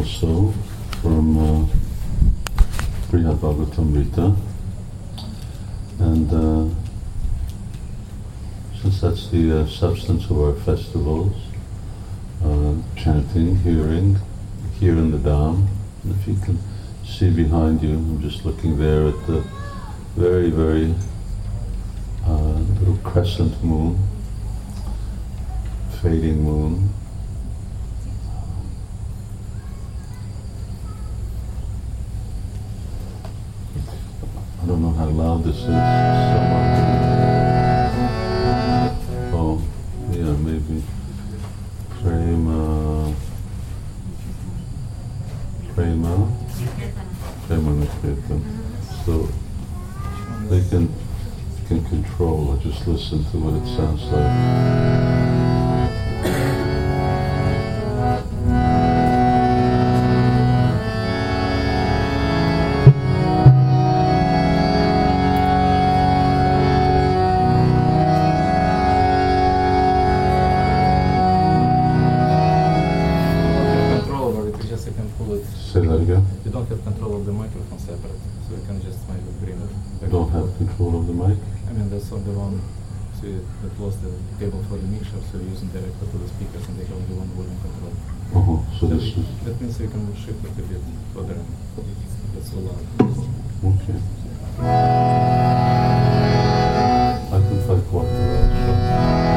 so from Brihad Bhagavatamrita, and since that's the substance of our festivals, chanting, hearing, here in the Dham, and if you can see behind you, I'm just looking there at the very, very little crescent moon, fading moon. I don't know how loud this is. Oh, yeah, maybe. Prema Nikirtan. So they can control or just listen to what it sounds like. Say that again? You don't have control of the microphone separate, so you can just maybe bring it back. Don't have control of the mic? I mean, that's on the one, so that was the cable for the mixer, so you're using directly to the speakers and they have only one volume control. So this is... That means you can shift it a bit further and that's so loud. Okay. I can try quarter.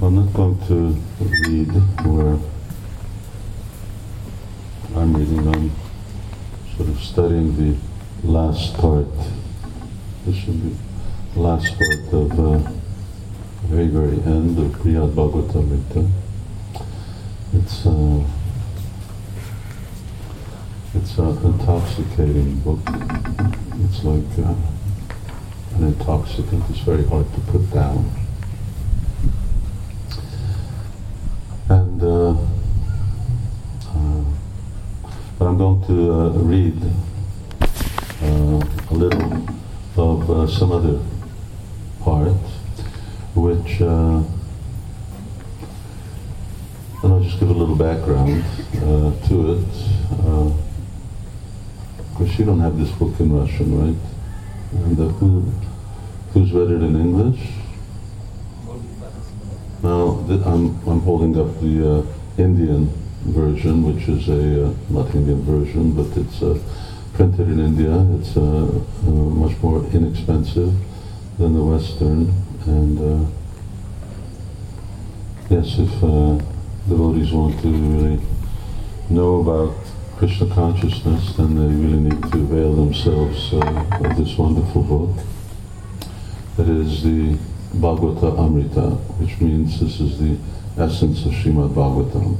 I'm not going to read where I'm reading. I'm sort of studying the last part. This should be the last part of the very, very end of Brihad Bhagavatamrita. It's an intoxicating book. It's like an intoxicant. It's very hard to put down. And but I'm going to read a little of some other part, which, and I'll just give a little background to it. Of course, you don't have this book in Russian, right? And who's read it in English? Now, I'm holding up the Indian version, which is not Indian version, but it's printed in India. It's much more inexpensive than the Western. And yes, if devotees want to really know about Krishna consciousness, then they really need to avail themselves of this wonderful book. That is the Bhagavata Amrita, which means this is the essence of Srimad Bhagavatam.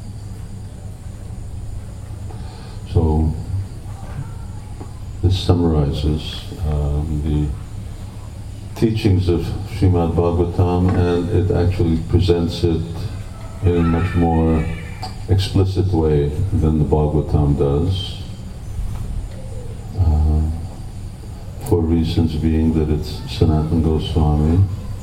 So this summarizes the teachings of Srimad Bhagavatam, and it actually presents it in a much more explicit way than the Bhagavatam does, for reasons being that it's Sanatana Goswami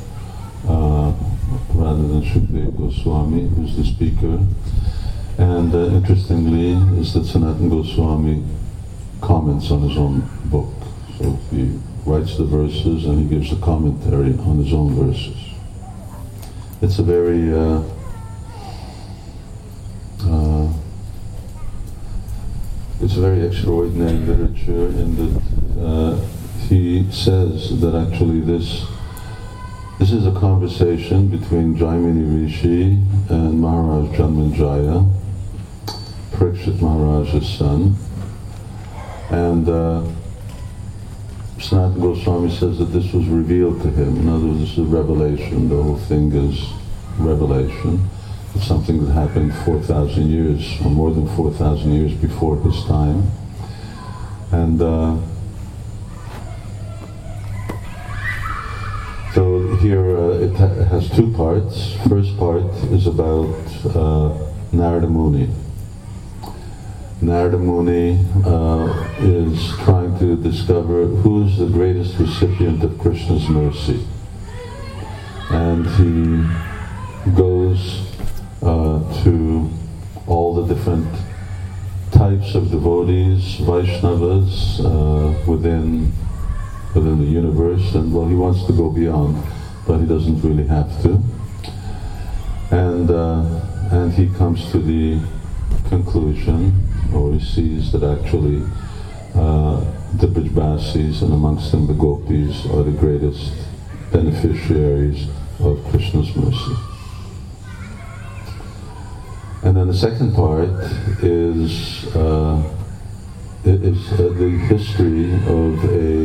rather than Shukadeva Goswami, who's the speaker. And interestingly is that Sanatana Goswami comments on his own book. So he writes the verses and he gives a commentary on his own verses. It's a very extraordinary literature in that he says that actually this is a conversation between Jaimini Rishi and Maharaj Janmenjaya, Parikshit Maharaj's son. And Sanatana Goswami says that this was revealed to him. In other words, this is a revelation. The whole thing is revelation. It's something that happened 4,000 years, or more than 4,000 years before his time. And so here it has two parts. First part is about Narada Muni. Narada Muni is trying to discover who is the greatest recipient of Krishna's mercy. And he goes to all the different types of devotees, Vaishnavas, within the universe, and well, he wants to go beyond, but he doesn't really have to. And he comes to the conclusion, or he sees that actually the Brajbasis, and amongst them the Gopis, are the greatest beneficiaries of Krishna's mercy. And then the second part is the history of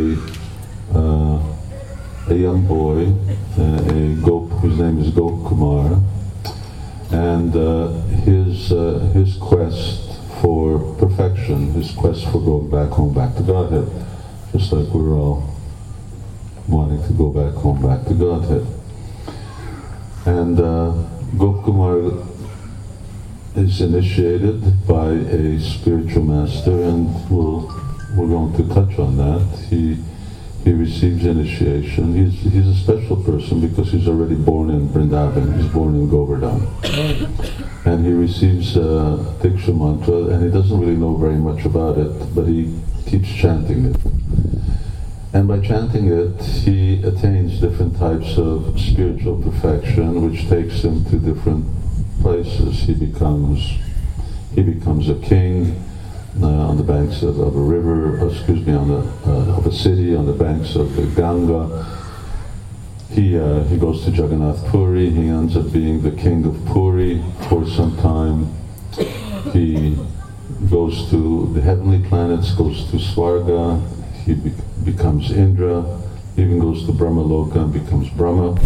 a young boy, a Gop, whose name is Gop Kumar, and his quest for perfection, his quest for going back home, back to Godhead, just like we're all wanting to go back home, back to Godhead. And Gop Kumar is initiated by a spiritual master, and we're going to touch on that. He receives initiation. He's a special person because he's already born in Vrindavan. He's born in Govardhan. And he receives Diksha mantra, and he doesn't really know very much about it, but he keeps chanting it. And by chanting it, he attains different types of spiritual perfection, which takes him to different places. He becomes a king on the banks of a river, of a city, on the banks of the Ganga. he goes to Jagannath Puri. He ends up being the king of Puri for some time. He goes to the heavenly planets, goes to Swarga. He becomes Indra. Even goes to Brahmaloka and becomes Brahma.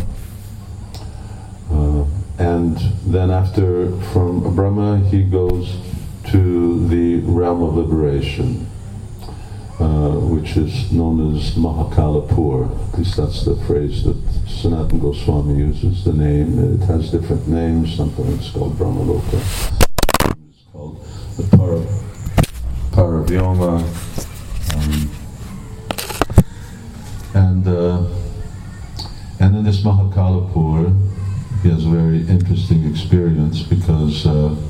And then from Brahma, he goes to the realm of liberation, which is known as Mahakalapur. At least that's the phrase that Sanatana Goswami uses, the name. It has different names. Sometimes it's called Brahmaloka. It's called the Paravyoma. And in this Mahakalapur, he has a very interesting experience because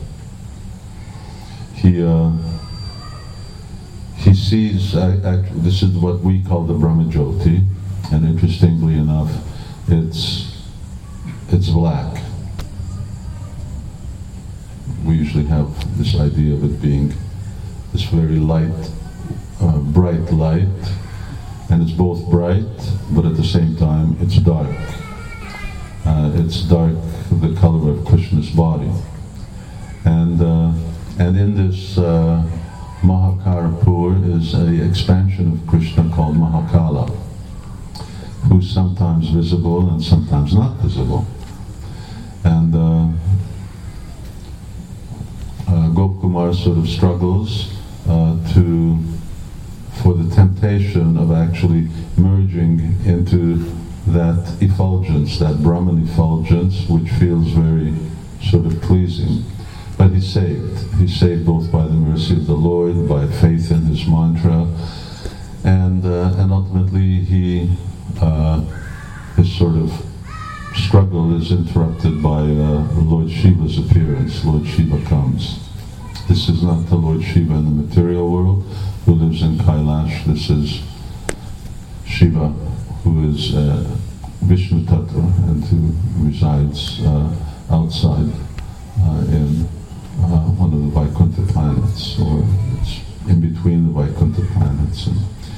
he sees, this is what we call the Brahmajyoti, and interestingly enough, it's black. We usually have this idea of it being this very light, bright light, and it's both bright, but at the same time it's dark. It's dark, the color of Krishna's body. And in this Mahakalapur is an expansion of Krishna called Mahakala, who's sometimes visible and sometimes not visible. And Gopkumar sort of struggles for the temptation of actually merging into that effulgence, that Brahman effulgence, which feels very sort of pleasing. But he's saved. He's saved both by the mercy of the Lord, by faith in his mantra, and ultimately his sort of struggle is interrupted by Lord Shiva's appearance. Lord Shiva comes. This is not the Lord Shiva in the material world, who lives in Kailash. This is Shiva, who is Vishnu Tattva and who resides outside in one of the Vaikuntha planets, or it's in between the Vaikuntha planets.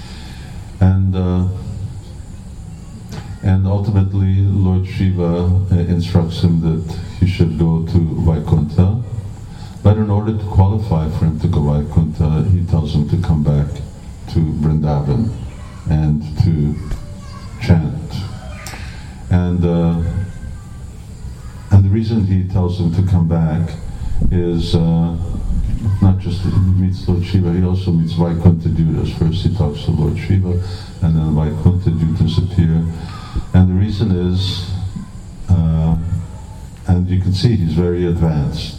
And ultimately, Lord Shiva instructs him that he should go to Vaikuntha, but in order to qualify for him to go Vaikuntha, he tells him to come back to Vrindavan and to chant. And the reason he tells him to come back is not just that he meets Lord Shiva, he also meets Vaikuntha Dutas. First he talks to Lord Shiva, and then Vaikuntha Dutas appear. And the reason is, and you can see he's very advanced.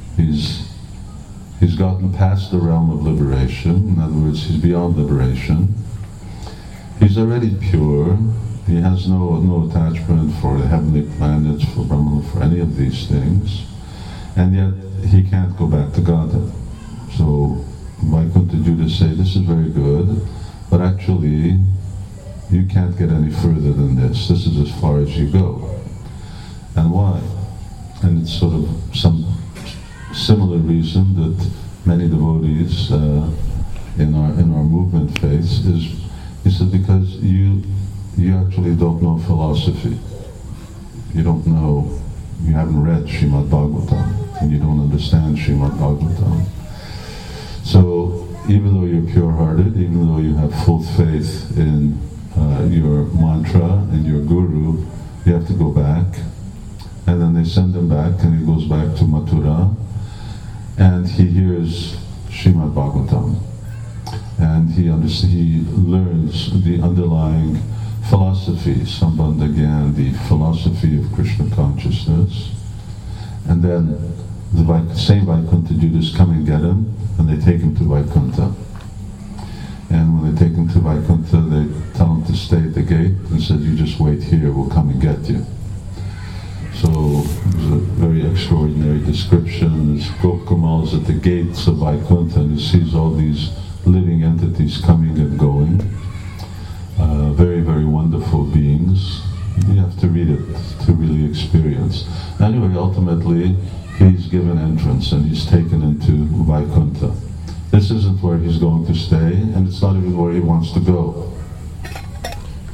He's gotten past the realm of liberation. In other words, he's beyond liberation. He's already pure. He has no attachment for the heavenly planets, for Brahma, for any of these things. And yet, he can't go back to Godhead. So, Vaikuntha Dutas say, this is very good, but actually, you can't get any further than this. This is as far as you go. And why? And it's sort of some similar reason that many devotees in our movement face is, he said, because you actually don't know philosophy. You don't know, you haven't read Srimad Bhagavatam, and you don't understand Srimad Bhagavatam. So even though you're pure-hearted, even though you have full faith in your mantra and your guru, you have to go back. And then they send him back, and he goes back to Mathura, and he hears Srimad Bhagavatam. And he learns the underlying philosophy, Sambandha Gyan, the philosophy of Krishna consciousness. And then the same Vaikuntha Dutas come and get him, and they take him to Vaikuntha. And when they take him to Vaikuntha, they tell him to stay at the gate and said, you just wait here, we'll come and get you. So there's a very extraordinary description. Gopkumal is at the gates of Vaikuntha, and he sees all these living entities coming and going. Very, very wonderful beings. You have to read it to really experience. Anyway, ultimately, he's given entrance and he's taken into Vaikuntha. This isn't where he's going to stay, and it's not even where he wants to go.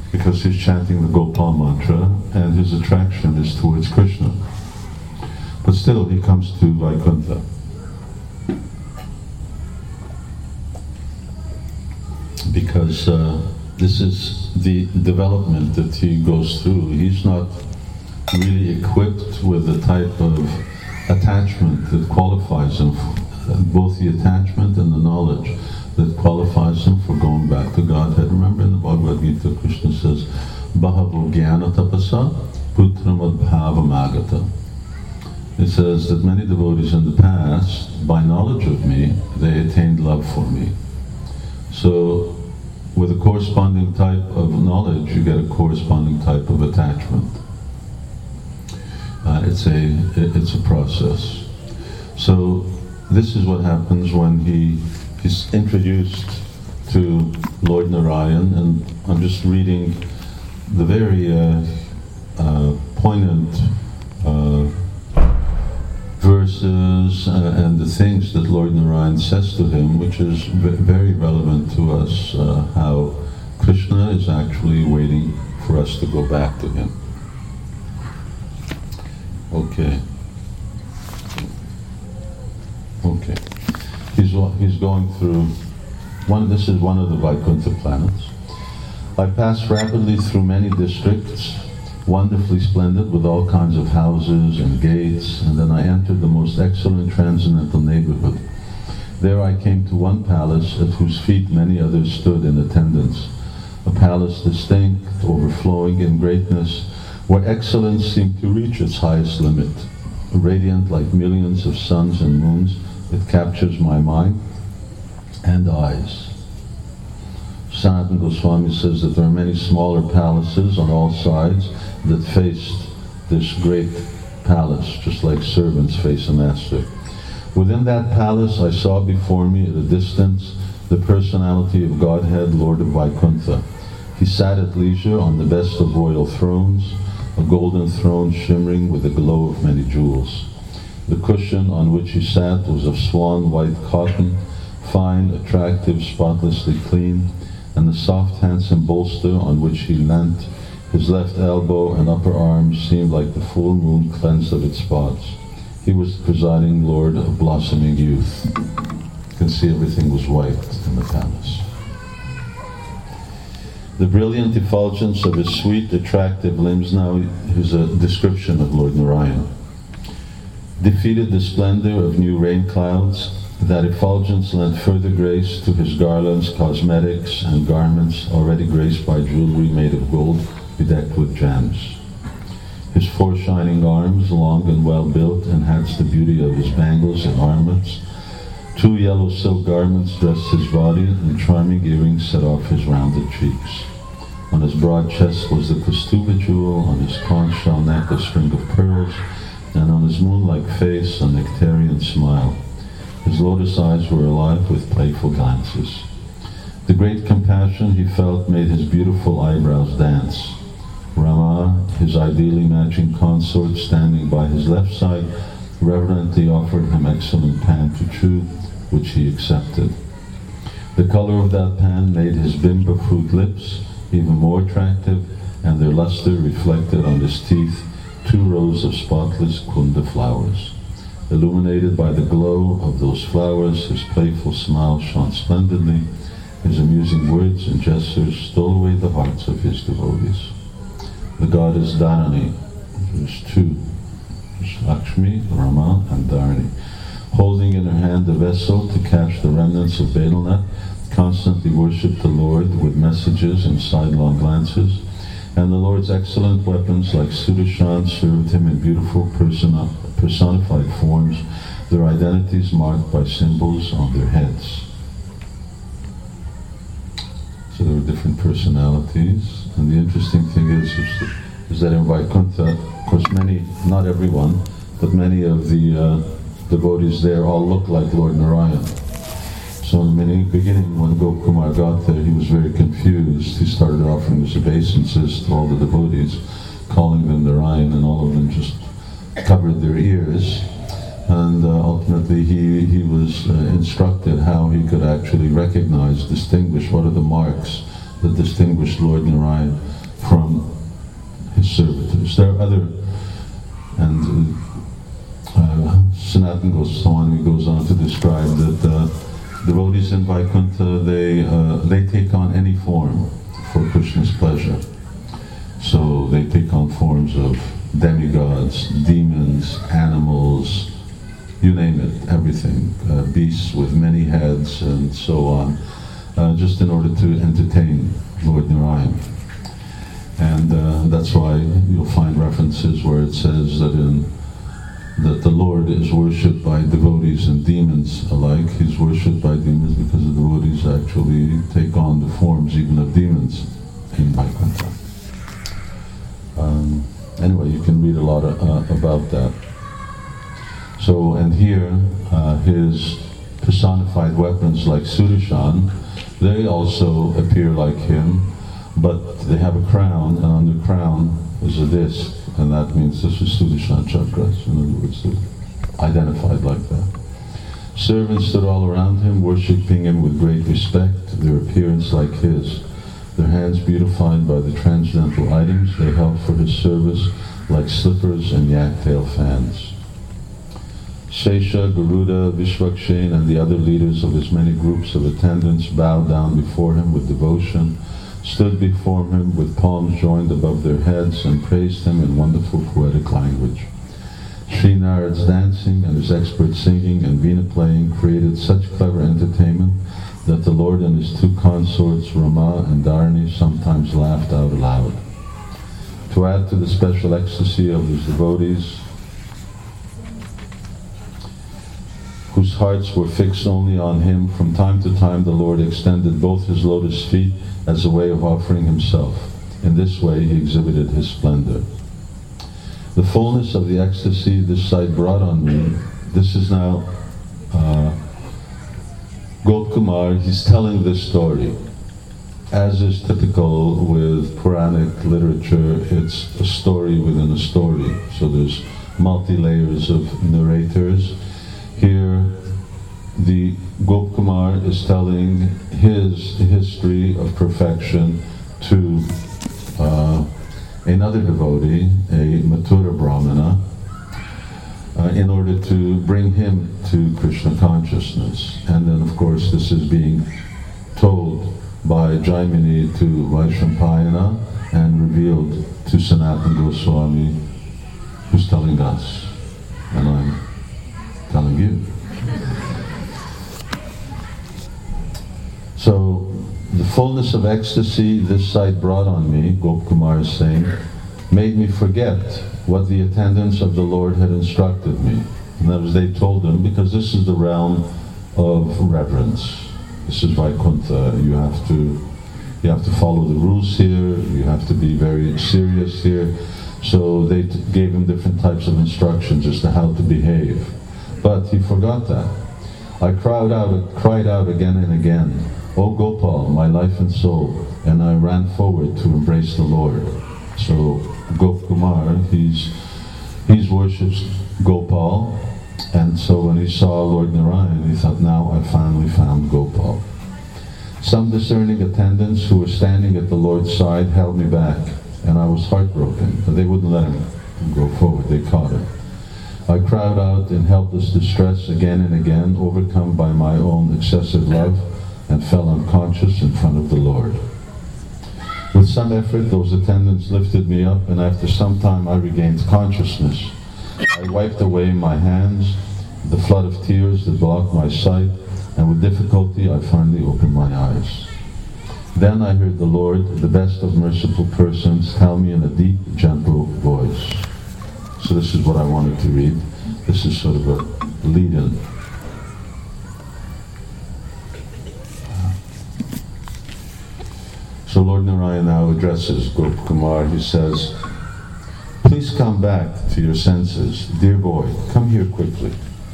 because he's chanting the Gopal mantra and his attraction is towards Krishna. But still he comes to Vaikuntha. Because this is the development that he goes through. He's not really equipped with the type of attachment that qualifies him, both the attachment and the knowledge that qualifies him for going back to Godhead. Remember in the Bhagavad Gita, Krishna says, Bahavo Jnana Tapasa Putramad Bhavamagata. It says that many devotees in the past, by knowledge of me, they attained love for me. So, with a corresponding type of knowledge, you get a corresponding type of attachment. It's a process. So, this is what happens when he's introduced to Lord Narayan, and I'm just reading the very poignant verses and the things that Lord Narayan says to him, which is very relevant to us, how Krishna is actually waiting for us to go back to him. Okay. He's going through this is one of the Vaikuntha planets. I passed rapidly through many districts, wonderfully splendid, with all kinds of houses and gates, and then I entered the most excellent transcendental neighborhood. There I came to one palace at whose feet many others stood in attendance, a palace distinct, overflowing in greatness, where excellence seemed to reach its highest limit. Radiant like millions of suns and moons, it captures my mind and eyes. Sanatana Goswami says that there are many smaller palaces on all sides that faced this great palace, just like servants face a master. Within that palace I saw before me at a distance the personality of Godhead, Lord of Vaikuntha. He sat at leisure on the best of royal thrones, a golden throne shimmering with the glow of many jewels. The cushion on which he sat was of swan white cotton, fine, attractive, spotlessly clean, and the soft, handsome bolster on which he leant, his left elbow and upper arm seemed like the full moon cleansed of its spots. He was the presiding lord of blossoming youth. You can see everything was white in the palace. The brilliant effulgence of his sweet, attractive limbs, now is a description of Lord Narayan, defeated the splendor of new rain clouds. That effulgence lent further grace to his garlands, cosmetics, and garments already graced by jewelry made of gold, bedecked with gems. His four shining arms, long and well built, enhanced the beauty of his bangles and armlets. Two yellow silk garments dressed his body, and charming earrings set off his rounded cheeks. On his broad chest was the Kaustubha jewel, on his conch shell neck a string of pearls, and on his moon-like face a nectarian smile. His lotus eyes were alive with playful glances. The great compassion he felt made his beautiful eyebrows dance. Rama, his ideally matching consort, standing by his left side, reverently offered him excellent pan to chew, which he accepted. The color of that pan made his bimba fruit lips even more attractive, and their luster reflected on his teeth 2 rows of spotless kunda flowers. Illuminated by the glow of those flowers, his playful smile shone splendidly. His amusing words and gestures stole away the hearts of his devotees. The goddess Dharani, there's 2, there's Lakshmi, Rama, and Dharani, holding in her hand a vessel to catch the remnants of betel nut, constantly worshipped the Lord with messages and sidelong glances, and the Lord's excellent weapons like Sudarshan served him in beautiful personified forms, their identities marked by symbols on their heads. So there were different personalities, and the interesting thing is that in Vaikuntha, of course many, not everyone, but many of the devotees there all look like Lord Narayan. So in the beginning, when Gopakumar got there, he was very confused. He started offering his obeisances to all the devotees, calling them Narayan, and all of them just covered their ears. And ultimately he was instructed how he could actually recognize, distinguish what are the marks that distinguish Lord Narayan. from his servitors. There are other, and Sanatana Goswami goes on to describe that devotees in Vaikuntha, they take on any form for Krishna's pleasure. So they take on forms of demigods, demons, animals, you name it, everything, beasts with many heads and so on, just in order to entertain Lord Narayan. And that's why you'll find references where it says that that the Lord is worshipped by devotees and demons alike. He's worshipped by demons because the devotees actually take on the forms even of demons in Vaikuntha. Anyway, you can read a lot about that. So, and here, his personified weapons like Sudarshan, they also appear like him, but they have a crown, and on the crown is a disc, and that means this is Sudarshan Chakras. In other words, they're identified like that. Servants stood all around him, worshipping him with great respect, their appearance like his. Their hands beautified by the transcendental items they held for his service, like slippers and yak-tail fans. Shesha, Garuda, Vishwakshen, and the other leaders of his many groups of attendants bowed down before him with devotion, stood before him with palms joined above their heads, and praised him in wonderful poetic language. Sri Narad's dancing and his expert singing and veena playing created such clever entertainment that the Lord and his two consorts, Rama and Dharani, sometimes laughed out aloud. To add to the special ecstasy of his devotees, whose hearts were fixed only on him, from time to time the Lord extended both his lotus feet as a way of offering himself. In this way he exhibited his splendor. The fullness of the ecstasy this sight brought on me, this is now Gopkumar, he's telling this story. As is typical with Puranic literature, it's a story within a story. So there's multi-layers of narrators. Here, the Gopkumar is telling his history of perfection to another devotee, a Mathura Brahmana, in order to bring him to Krishna consciousness. And then, of course, this is being told by Jaimini to Vaishampayana and revealed to Sanatana Goswami, who's telling us, and I'm telling you. So, the fullness of ecstasy this sight brought on me, Gopkumar is saying, made me forget what the attendants of the Lord had instructed me. And that was, they told him, because this is the realm of reverence. This is Vaikuntha. You have to follow the rules here. You have to be very serious here. So they gave him different types of instructions as to how to behave. But he forgot that. I cried out again and again, "O Gopal, my life and soul," and I ran forward to embrace the Lord. So Gopkumar, he's worships Gopal, and so when he saw Lord Narayan, he thought, now I finally found Gopal. Some discerning attendants who were standing at the Lord's side held me back, and I was heartbroken. They wouldn't let him go forward, they caught him. I cried out in helpless distress again and again, overcome by my own excessive love, and fell unconscious in front of the Lord. With some effort, those attendants lifted me up, and after some time I regained consciousness. I wiped away my hands, the flood of tears that blocked my sight, and with difficulty I finally opened my eyes. Then I heard the Lord, the best of merciful persons, tell me in a deep, gentle voice. So this is what I wanted to read. This is sort of a lead-in. So Lord Narayan now addresses Gopkumar. He says, "Please come back to your senses. Dear boy, come here quickly."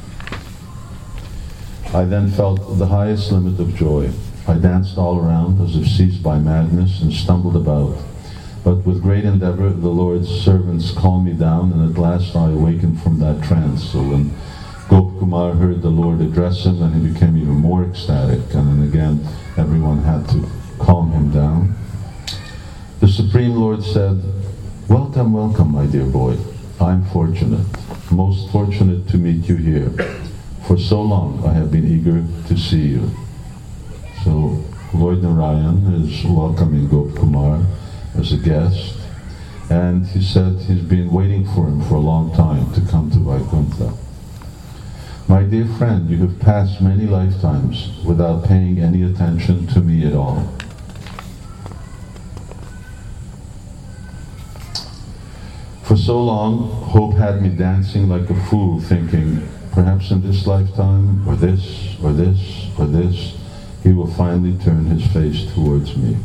I then felt the highest limit of joy. I danced all around as if seized by madness and stumbled about. But with great endeavor, the Lord's servants calmed me down, and at last I awakened from that trance. So when Gopkumar heard the Lord address him, then he became even more ecstatic. And then again, everyone had to calm him down. The Supreme Lord said, "Welcome, welcome, my dear boy. I'm fortunate, most fortunate to meet you here. For so long I have been eager to see you." So Lord Narayan is welcoming Gopkumar as a guest, and he said he's been waiting for him for a long time to come to Vaikuntha. "My dear friend, you have passed many lifetimes without paying any attention to me at all. For so long, hope had me dancing like a fool, thinking, perhaps in this lifetime, or this, or this, or this, he will finally turn his face towards me."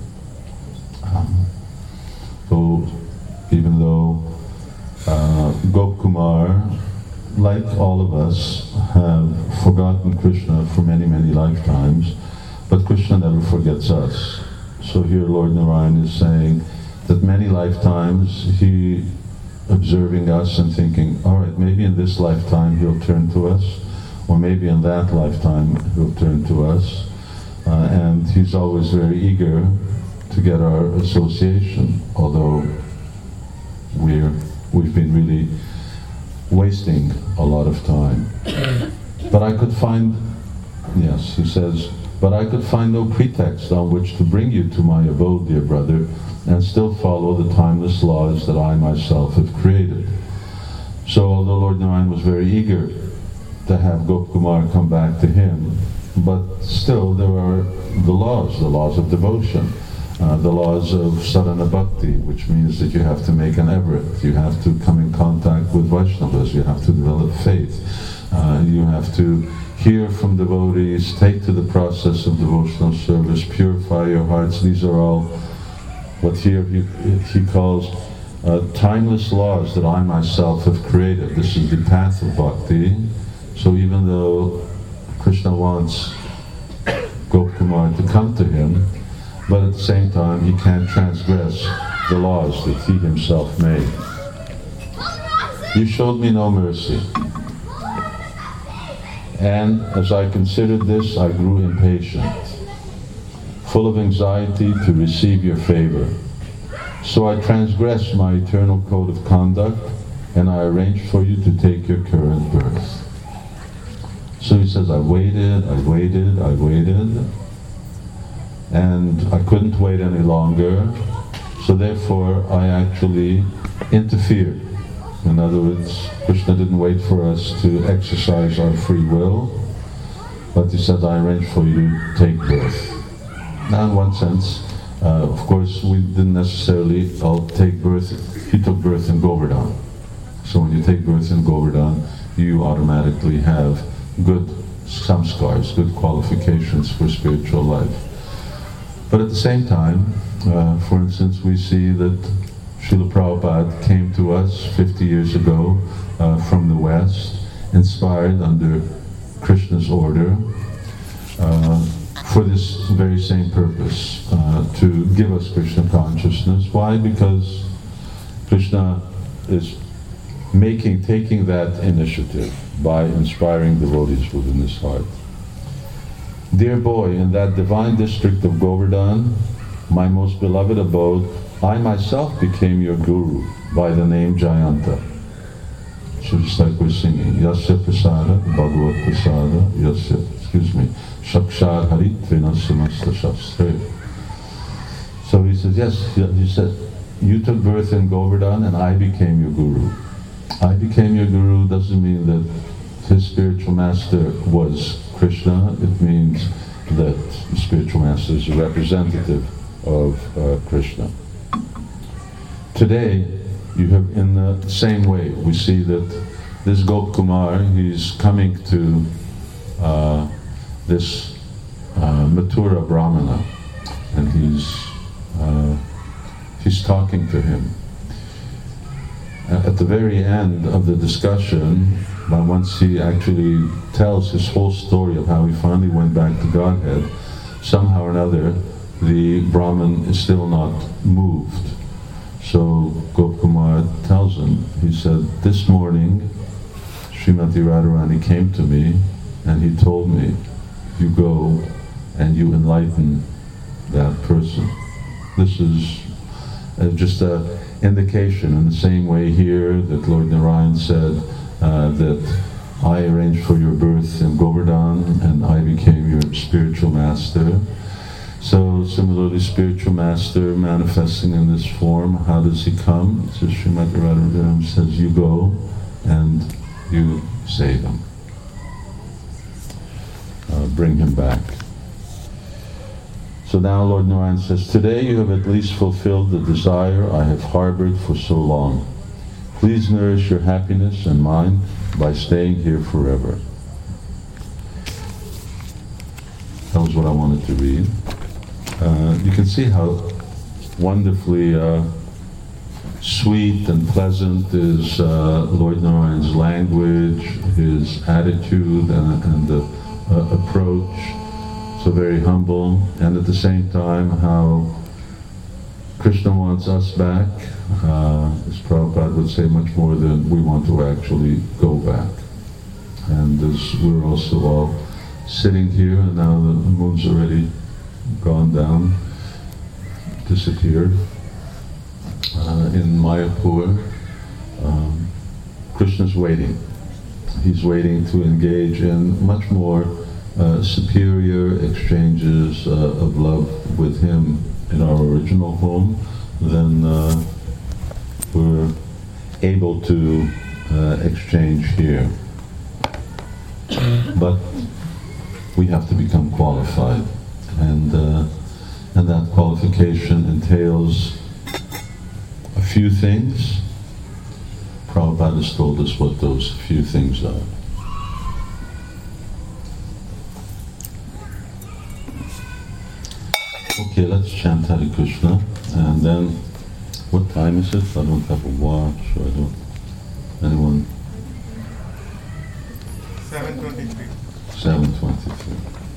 So, even though Gopkumar, like all of us, have forgotten Krishna for many, many lifetimes, but Krishna never forgets us. So here Lord Narayan is saying that many lifetimes he observing us and thinking, all right, maybe in this lifetime he'll turn to us, or maybe in that lifetime he'll turn to us. And he's always very eager to get our association, although we've been really wasting a lot of time. But I could find, yes, he says, but I could find no pretext on which to bring you to my abode, dear brother, and still follow the timeless laws that I myself have created. So although Lord Narayan was very eager to have Gopkumar come back to him, but still there are the laws of devotion, the laws of sadhana bhakti, which means that you have to make an effort, you have to come in contact with Vaishnavas, you have to develop faith, you have to hear from devotees, take to the process of devotional service, purify your hearts. These are all what here he calls timeless laws that I myself have created. This is the path of bhakti. So even though Krishna wants Gopkumar to come to him, but at the same time he can't transgress the laws that he himself made. "You showed me no mercy. And as I considered this, I grew impatient, full of anxiety to receive your favor. So I transgressed my eternal code of conduct, and I arranged for you to take your current birth." So he says, I waited, and I couldn't wait any longer, so therefore I actually interfered. In other words, Krishna didn't wait for us to exercise our free will, but he said, I arranged for you to take birth. Now in one sense, of course, we didn't necessarily all take birth. He took birth in Govardhan. So when you take birth in Govardhan, you automatically have good samskars, good qualifications for spiritual life. But at the same time, for instance, we see that Srila Prabhupada came to us 50 years ago from the West, inspired under Krishna's order, for this very same purpose, to give us Krishna consciousness. Why? Because Krishna is taking that initiative by inspiring devotees within his heart. "Dear boy, in that divine district of Govardhan, my most beloved abode, I myself became your guru by the name Jayanta." So just like we're singing, Yasya Prasada, Bhagavad Prasada, Yasya, Shakshar Haritvena Samasta Shastre. So he says, yes, he said, you took birth in Govardhan and I became your guru. I became your guru doesn't mean that his spiritual master was Krishna. It means that the spiritual master is a representative of Krishna. Today, you have, in the same way, we see that this Gopkumar, he's coming to this Mathura Brahmana, and he's talking to him. At the very end of the discussion, once he actually tells his whole story of how he finally went back to Godhead, somehow or another, the Brahmin is still not moved. So Gopkumar tells him, he said, this morning, Srimati Radharani came to me and he told me, you go and you enlighten that person. This is just an indication. In the same way here that Lord Narayan said that I arranged for your birth in Govardhan and I became your spiritual master. So similarly, spiritual master manifesting in this form, how does he come? So Srimati Radharani says, you go and you save him. Bring him back. So now Lord Narayan says, today you have at least fulfilled the desire I have harbored for so long. Please nourish your happiness and mine by staying here forever. That was what I wanted to read. You can see how wonderfully sweet and pleasant is Lord Narayan's language, his attitude and the approach. So very humble, and at the same time how Krishna wants us back, as Prabhupada would say, much more than we want to actually go back. And as we're also all sitting here, and now the moon's already gone down, disappeared, in Mayapur, Krishna's waiting. He's waiting to engage in much more superior exchanges of love with him in our original home than we're able to exchange here. But we have to become qualified, and that qualification entails a few things. Prabhupada has told us what those few things are. Okay, let's chant Hare Krishna, and then, what time is it? I don't have a watch, or I don't, anyone? 7:23. 7:23.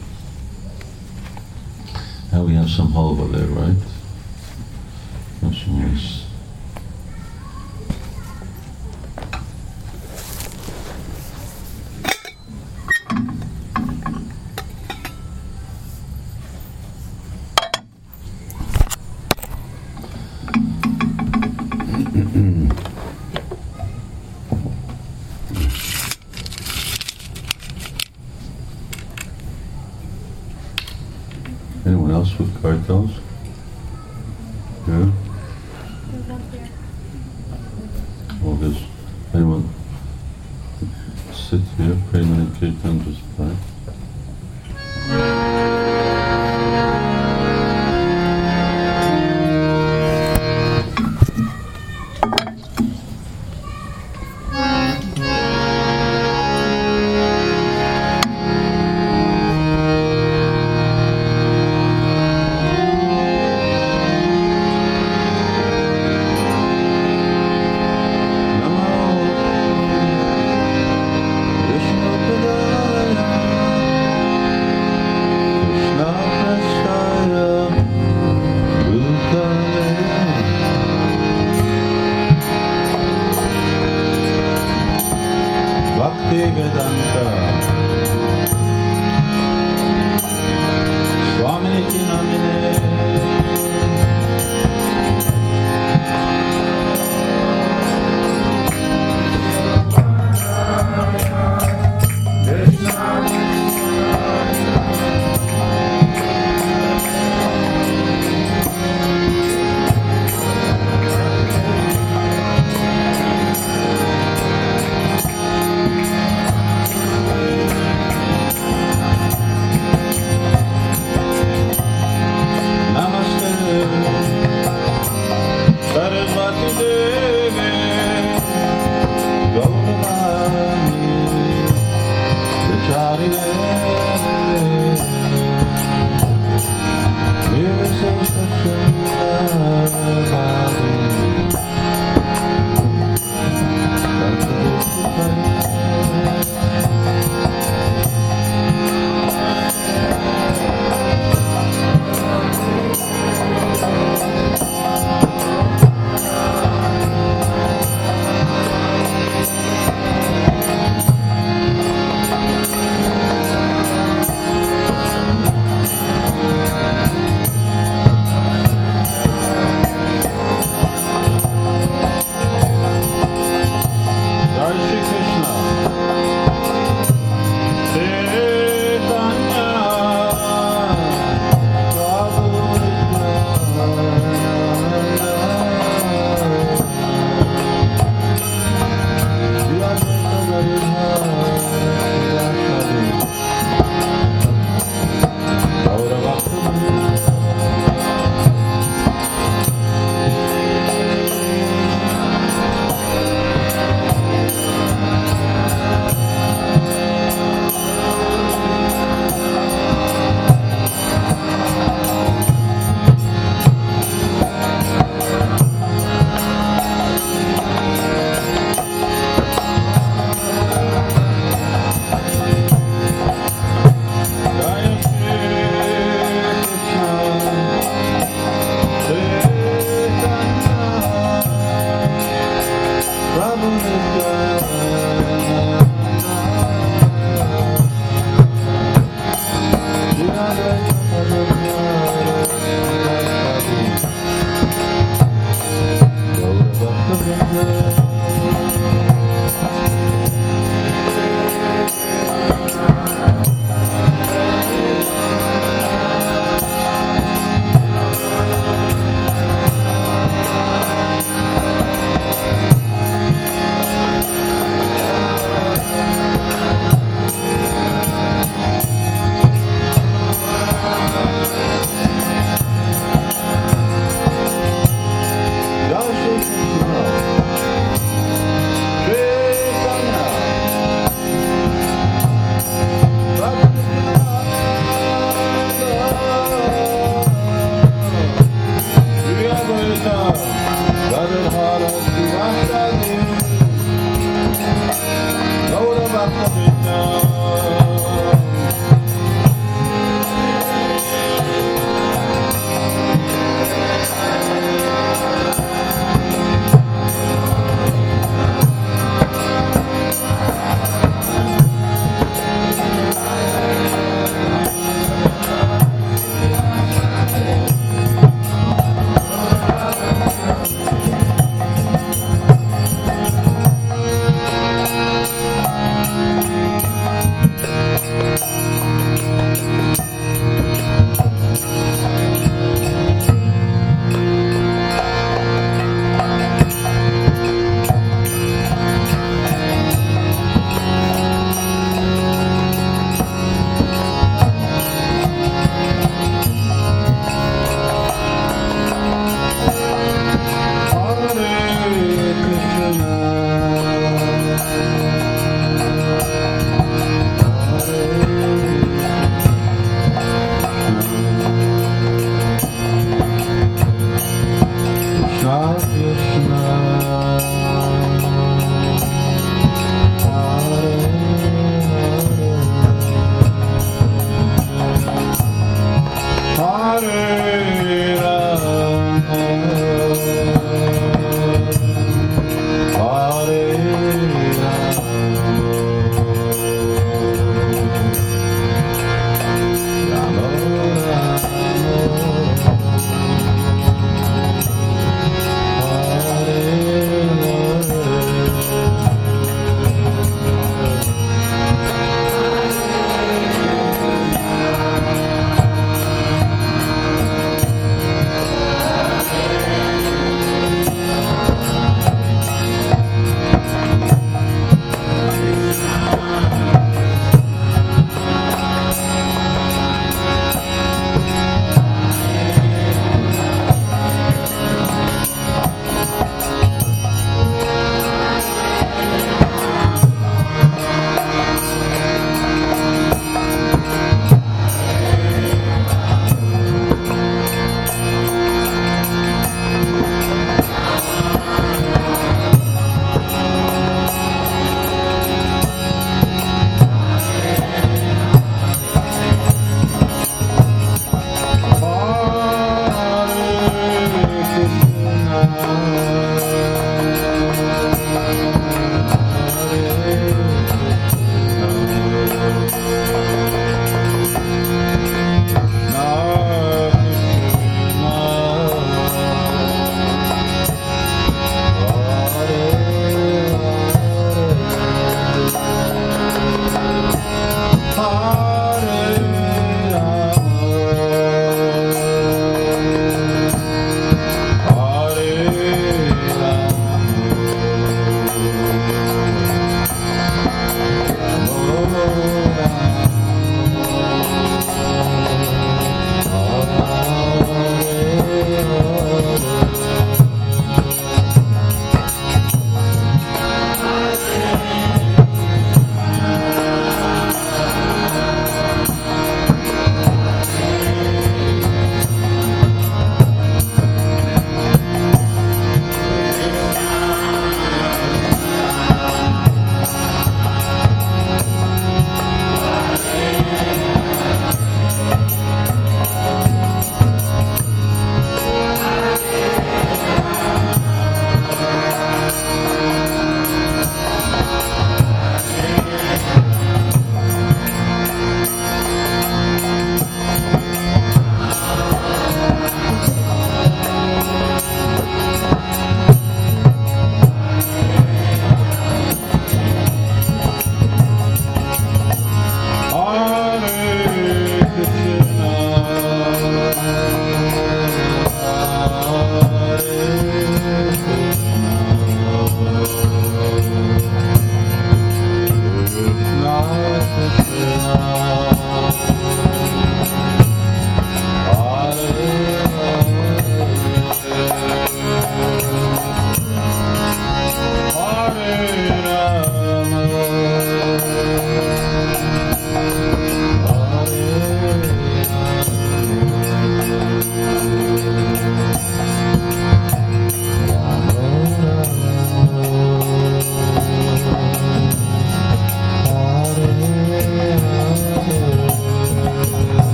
Now we have some halva there, right? That's nice. Anyone else with cartels? Yeah? Well, there's anyone sit here, pray many kirtan, just play.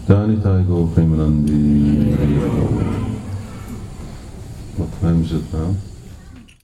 Janitai Go Premanandi. What time is it now?